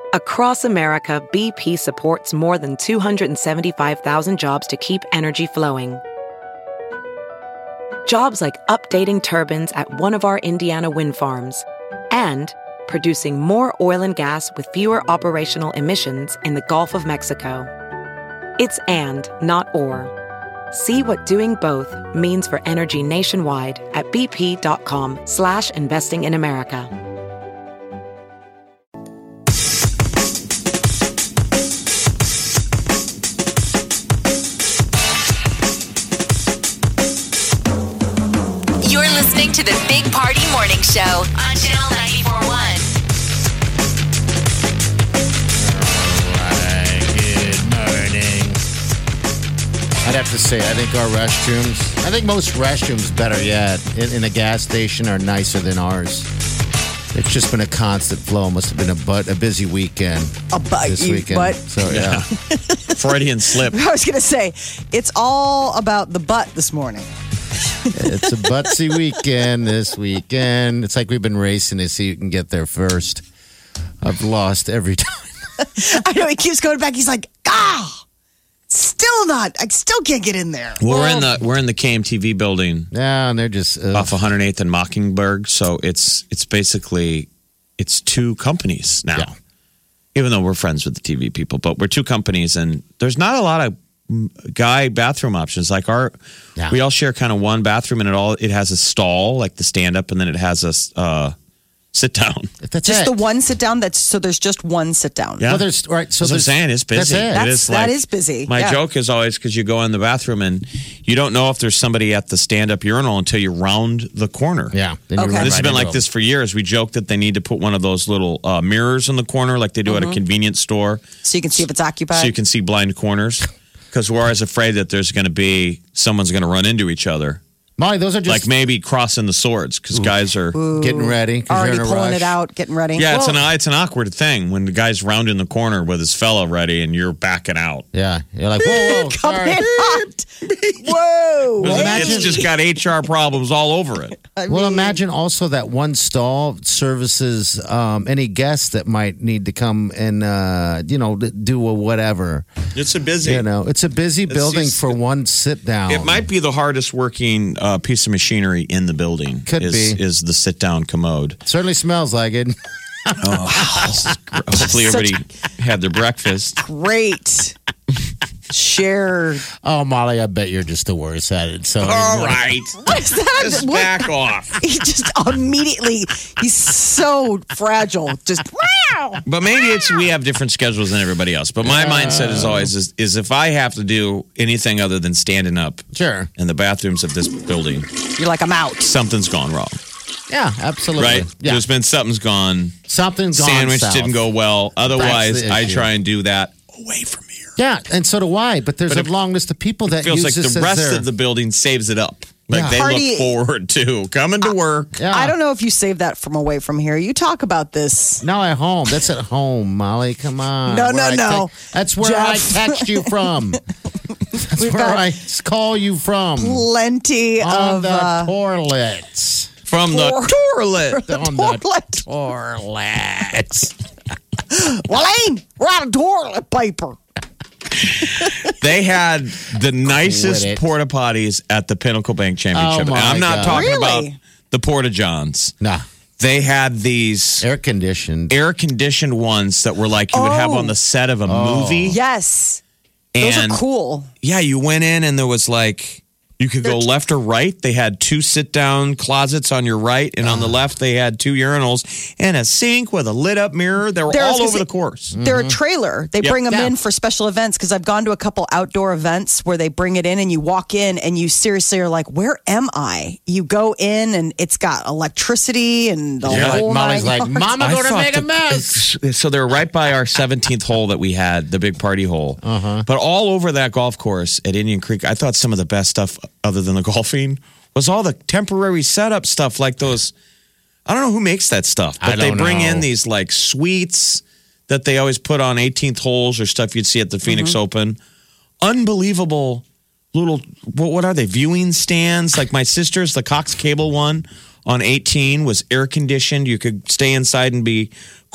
Across America, BP supports more than 275,000 jobs to keep energy flowing. Jobs like updating turbines at one of our Indiana wind farms and producing more oil and gas with fewer operational emissions in the Gulf of Mexico. It's and, not or. See what doing both means for energy nationwide at bp.com/investing in America. You're listening to the Big Party Morning Show on Channel 94.1. Good morning. I'd have to say, I think most restrooms, better yet, in a gas station are nicer than ours. It's just been a constant flow. Must have been a busy weekend. This weekend. Butt. So, yeah. Freudian slip. I was going to say, it's all about the butt this morning. It's a butsy weekend this weekend. It's like we've been racing to see who can get there first. I've lost every time. I know, he keeps going back. He's like, still not. I still can't get in there. We're in the KMTV building. Yeah, and they're just off 108th and Mockingbird. So it's basically two companies now. Yeah. Even though we're friends with the TV people, but we're two companies, and there's not a lot of guy bathroom options. Like we all share kind of one bathroom, and it has a stall, like the stand up, and then it has a sit down. That's just it. the one sit down. So there's just one sit down. Yeah. Well, there's right. So That's what I'm saying, it's busy. That's it. That is busy. My joke is always because you go in the bathroom and you don't know if there's somebody at the stand-up urinal until you round the corner. Yeah. Then Okay. This has been like this for years. We joke that they need to put one of those little mirrors in the corner like they do at a convenience store. So you can see if it's occupied. So you can see blind corners. Because we're always afraid that there's going to be someone's going to run into each other. Molly, those are just Like maybe crossing the swords because guys are getting ready. 'Cause already you're in a pulling rush. it out, getting ready. Yeah, it's an awkward thing when the guy's rounding the corner with his fella ready and you're backing out. Yeah, you're like, whoa, Coming sorry. hot. Whoa. It's just got HR problems all over it. Well, imagine also that one stall services any guests that might need to come and do a whatever. It's a busy. It's a busy building for one sit down. It might be the hardest working piece of machinery in the building. Could be. Is the sit down commode. Certainly smells like it. Hopefully everybody had their breakfast. Great. Share. Oh, Molly, I bet you're just the worst at it. So All right. What is that? Just back off. He just immediately, he's so fragile. Just, wow. But maybe we have different schedules than everybody else. But my mindset is always is if I have to do anything other than standing up Sure. in the bathrooms of this building, You're like, I'm out. something's gone wrong. Yeah, absolutely. Right? Yeah. There's been something's gone. Something's gone Sandwich south. didn't go well. Otherwise, the I issue. try and do that away from here. Yeah, and so do I. But there's a long list of people that Feels use like this the as rest their- of the building saves it up. Like Yeah. they Party- look forward to coming to work. Yeah. I don't know if you saved that from away from here. You talk about this. No, at home. That's at home, Molly. Come on. No, Where no. That's where Jeff. I text you from. That's We've where got I call you from. Plenty On of the toilets. From the toilet. On toilet. the toilets. Wayne, we're out of toilet paper. They had the nicest Quit it. porta potties at the Pinnacle Bank Championship. Oh, my And I'm not God. talking Really? about the porta johns. Nah, They had these air conditioned. air conditioned ones that were like you would have on the set of a movie. Yes. Those And are cool. yeah, you went in and there was like you could go left or right. They had two sit down closets on your right, and on the left they had two urinals and a sink with a lit up mirror. They were There, I was all gonna over say- the course. They're a trailer. They Yep. bring them Yeah. in for special events because I've gone to a couple outdoor events where they bring it in and you walk in and you seriously are like, where am I? You go in and it's got electricity and the You're like, whole Molly's nine like, yards. Mama, I going to thought make a mess. So they're right by our 17th hole that we had, the big party hole. But all over that golf course at Indian Creek, I thought some of the best stuff, other than the golfing, was all the temporary setup stuff, like those. I don't know who makes that stuff, but I they don't bring know. in these like suites that they always put on 18th holes or stuff you'd see at the Phoenix Open. Unbelievable little, what are they, viewing stands? Like my sister's, the Cox Cable one on 18 was air conditioned. You could stay inside and be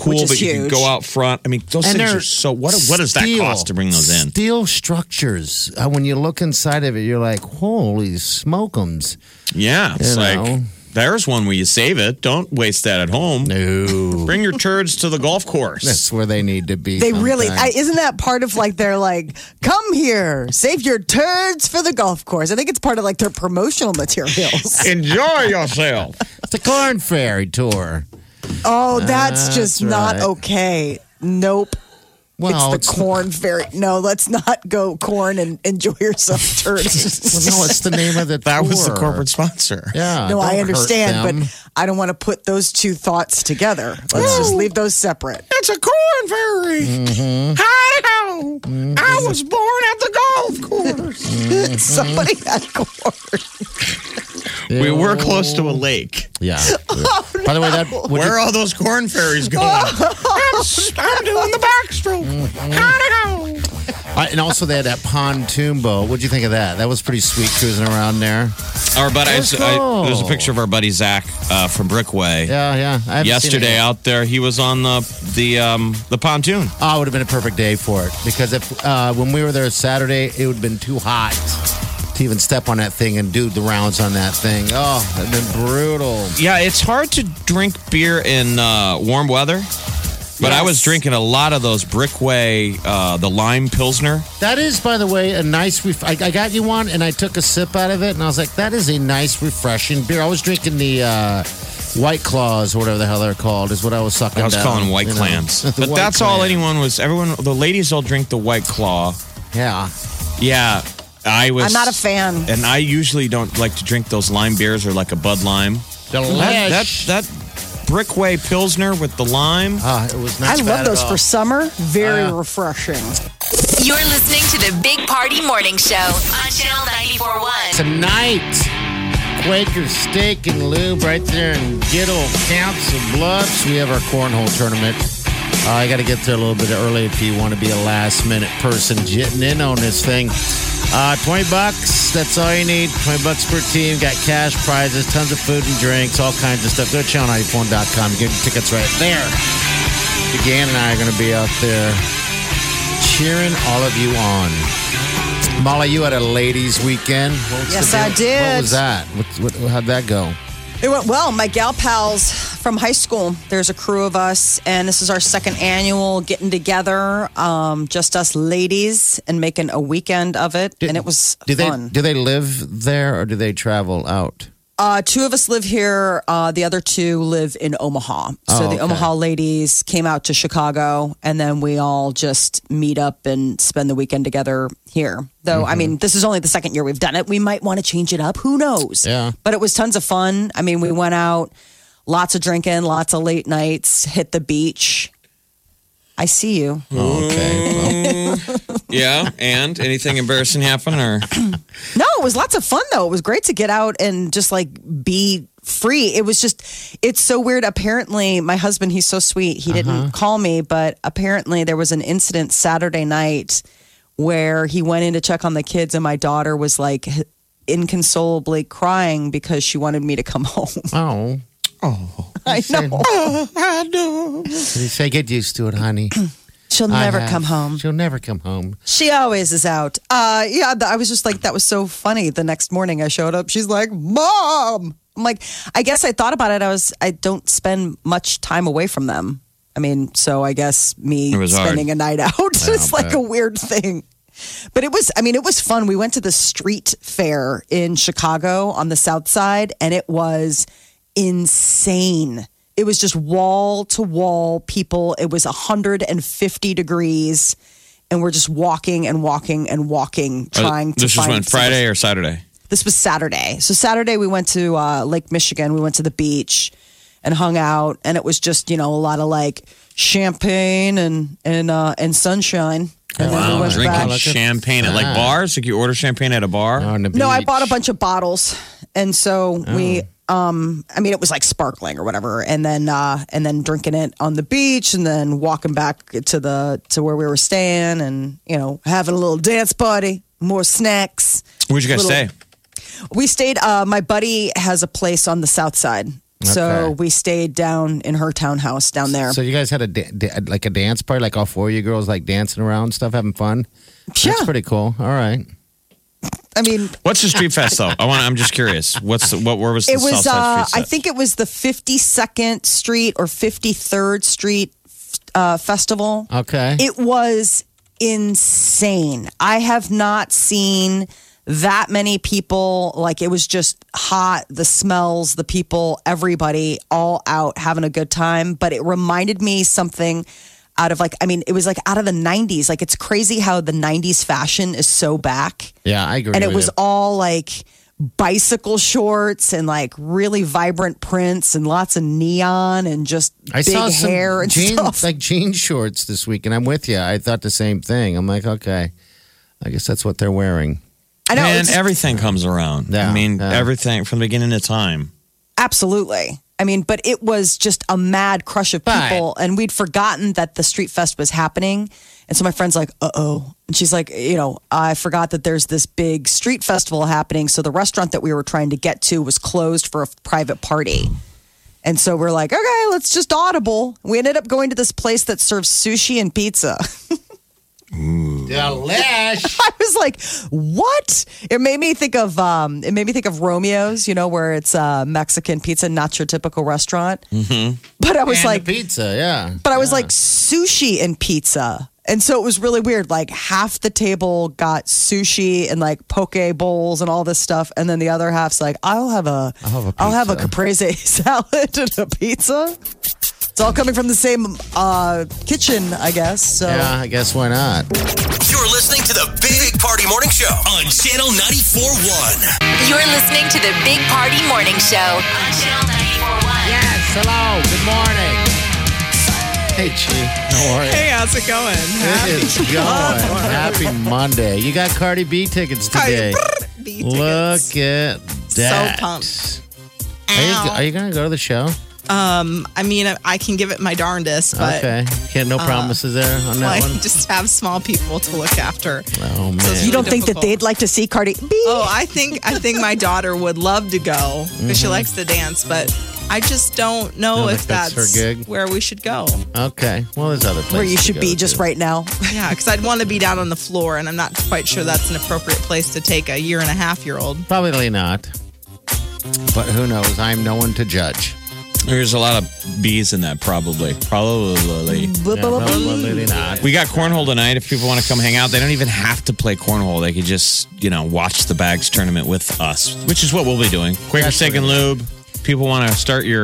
cool, Which is but you can huge. go out front. I mean, those And things they're are so. What does that cost to bring those in? Steel structures. When you look inside of it, you're like, holy smokums. Yeah, it's You like know. there's one where you save it. Don't waste that at home. No. Bring your turds to the golf course. That's where they need to be. They really sometimes. isn't that part of like they're like, come here, save your turds for the golf course. I think it's part of like their promotional materials. Enjoy yourself. It's a corn ferry tour. Oh, that's just That's not right. okay. Nope. Well, it's the corn fairy. No, let's not go corn and enjoy yourself turds. Well, no, it's the name of the That was the tour. corporate sponsor. Yeah. No, don't I hurt understand, them. but I don't want to put those two thoughts together. Let's just leave those separate. It's a corn ferry. Hi-ho. I was born at the golf course. Somebody had corn. We were close to a lake. Yeah. By the way, that Where are all those corn ferries going? I'm doing the backstroke. Hi-ho. and also they had that pontoon boat. What'd you think of that? That was pretty sweet cruising around there. Our buddy, That's cool. there's a picture of our buddy Zach from Brickway. Yeah, yeah. I haven't seen it Yesterday yet. out there, he was on the pontoon. Oh, it would have been a perfect day for it because if when we were there Saturday, it would have been too hot to even step on that thing and do the rounds on that thing. Oh, it'd been brutal. Yeah, it's hard to drink beer in warm weather. But I was drinking a lot of those Brickway, the lime pilsner. That is, by the way, a nice. I got you one, and I took a sip out of it, and I was like, "That is a nice, refreshing beer." I was drinking the White Claws or whatever the hell they're called. Is what I was sucking. I was down, calling White you know. Clams. The But White that's all Clam. anyone was. The ladies all drink the White Claw. Yeah. Yeah, I was. I'm not a fan. And I usually don't like to drink those lime beers or like a Bud Lime. Delish. That Brickway pilsner with the lime. It was not I bad love at those all. for summer. Very refreshing. You're listening to the Big Party Morning Show on Channel 94.1. Tonight, Quaker Steak and Lube right there in good old Council Bluffs. We have our cornhole tournament. I got to get there a little bit early if you want to be a last-minute person getting in on this thing. $20, that's all you need. $20 per team. Got cash prizes, tons of food and drinks, all kinds of stuff. Go to channel94.com. Get your tickets right there. DeGan and I are going to be out there cheering all of you on. Molly, you had a ladies' weekend. Yes, I did. What was that? How'd that go? It went well. My gal pals from high school, there's a crew of us, and this is our second annual getting together, just us ladies, and making a weekend of it. And it was fun. Do they live there or do they travel out? Two of us live here. The other two live in Omaha. So the okay. Omaha ladies came out to Chicago, and then we all just meet up and spend the weekend together here. Though, I mean, this is only the second year we've done it. We might want to change it up. Who knows? Yeah. But it was tons of fun. I mean, we went out, lots of drinking, lots of late nights, hit the beach. I see you. Okay. Well, Yeah, and anything embarrassing happen or? No, it was lots of fun though. It was great to get out and just like be free. It was just, it's so weird. Apparently, my husband, he's so sweet. He didn't call me, but apparently there was an incident Saturday night where he went in to check on the kids, and my daughter was like inconsolably crying because she wanted me to come home. I know. I know. Did he say, get used to it, honey? She'll never come home. She'll never come home. She always is out. I was just like, that was so funny. The next morning I showed up. She's like, Mom. I'm like, I guess I thought about it. I don't spend much time away from them. I mean, so I guess me It was hard. spending a night out is like bet. a weird thing. But it was fun. We went to the street fair in Chicago on the South Side, and it was insane. It was just wall to wall people. It was 150 degrees, and we're just walking and walking and walking, trying to This was find when, Friday or Saturday? This was Saturday. So Saturday we went to Lake Michigan. We went to the beach and hung out, and it was just, a lot of like champagne and sunshine. And then we went Drinking back. champagne at like bars? Like you order champagne at a bar? On the No, I beach. bought a bunch of bottles, and so we. It was like sparkling or whatever, and then drinking it on the beach, and then walking back to where we were staying, and having a little dance party, more snacks. Where'd you guys stay? We stayed. My buddy has a place on the South Side, So we stayed down in her townhouse down there. So you guys had a dance party, like all four of you girls like dancing around and stuff, having fun? Yeah. That's pretty cool. All right. I mean, what's the street fest though? I'm just curious. Where was the Southside Street set? I think it was the 52nd Street or 53rd Street festival. Okay. It was insane. I have not seen that many people. Like, it was just hot, the smells, the people, everybody all out having a good time. But it reminded me something out of it was like out of the 90s. Like, it's crazy how the 90s fashion is so back. Yeah, I agree. And it was all like bicycle shorts and like really vibrant prints and lots of neon and just big hair and stuff. Like jean shorts this week. And I'm with you. I thought the same thing. I'm like, okay, I guess that's what they're wearing. I know. And everything comes around. Yeah, everything from the beginning of time. Absolutely. I mean, but it was just a mad crush of people. And we'd forgotten that the Street Fest was happening. And so my friend's like, uh-oh. And she's like, I forgot that there's this big street festival happening. So the restaurant that we were trying to get to was closed for a private party. And so we're like, okay, let's just audible. We ended up going to this place that serves sushi and pizza. Delish. I was like, what? It made me think of Romeo's, where it's Mexican pizza, not your typical restaurant. Mm-hmm. But I was like, pizza, yeah. But I was like, sushi and pizza. And so it was really weird. Like, half the table got sushi and like poke bowls and all this stuff, and then the other half's like, I'll have a caprese salad and a pizza. It's all coming from the same kitchen, I guess. So. Yeah, I guess why not? You're listening to the Big Party Morning Show on Channel 94.1. You're listening to the Big Party Morning Show on Channel 94.1. Yes, hello, good morning. Hey, Chi. How are you? Hey, how's it going? It is going. Happy Monday. You got Cardi B tickets today. B tickets. Look at that. So pumped. Are you going to go to the show? I mean, I can give it my darndest, but okay, no promises there on that one. Just have small people to look after. Oh man, So you don't think that they'd like to see Cardi B? Oh, I think my daughter would love to go because she likes to dance, but I just don't know if that's her gig? where we should go. Okay, well, there's other places Where you to should go be just to. right now. Yeah, because I'd want to be down on the floor, and I'm not quite sure that's an appropriate place to take a 1.5-year-old. Probably not, but who knows? I'm no one to judge. There's a lot of B's in that, probably. Probably. Probably not. We got cornhole tonight. If people want to come hang out, they don't even have to play cornhole. They could just, watch the bags tournament with us, which is what we'll be doing. Quaker Steak and Lube. People want to start your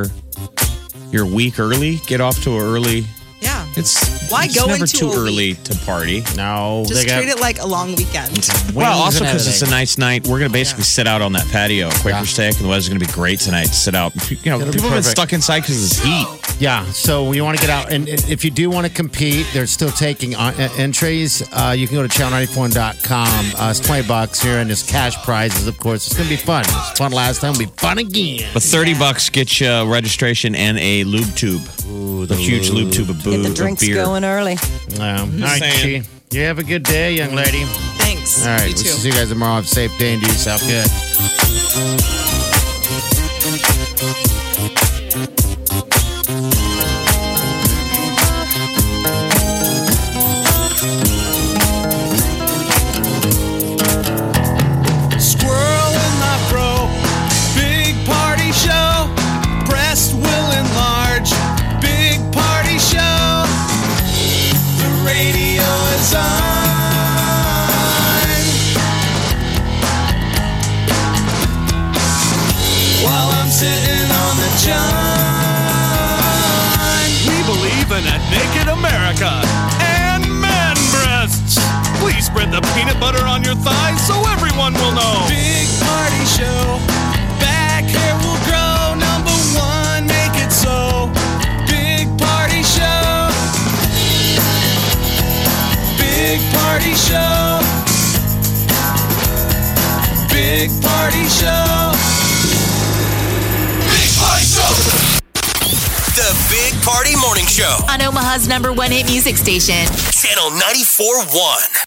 week early, get off to an early. Yeah. It's go never into too a early week? to party. No, Just treat it like a long weekend. Well, also and because it's a nice night, we're going to basically sit out on that patio at Quaker Yeah. Steak, and the weather's going to be great tonight to sit out. People have been perfect. stuck inside because of this heat. Yeah, so you want to get out, and if you do want to compete, they're still taking entries. You can go to channel94.com. It's $20 here, and there's cash prizes, of course. It's going to be fun. It was fun last time. It'll be fun again. But $30 gets you registration and a lube tube. Ooh, A huge lube tube of Get the drinks beer. going early. All right, saying. Chi. You have a good day, young lady. Thanks. All right, You we'll too. see you guys tomorrow. Have a safe day and do yourself good. Squirrel in my fro. Big party show. Breast will enlarge. Big party show. The radio is on. While I'm sitting on the john. We believe in a naked America and man breasts. Please spread the peanut butter on your thighs so everyone will know. Big party show. Back hair will grow. Number one, make it so. Big party show. Big party show. Big party show. Big party show. The Big Party Morning Show. On Omaha's #1 hit music station. Channel 94.1.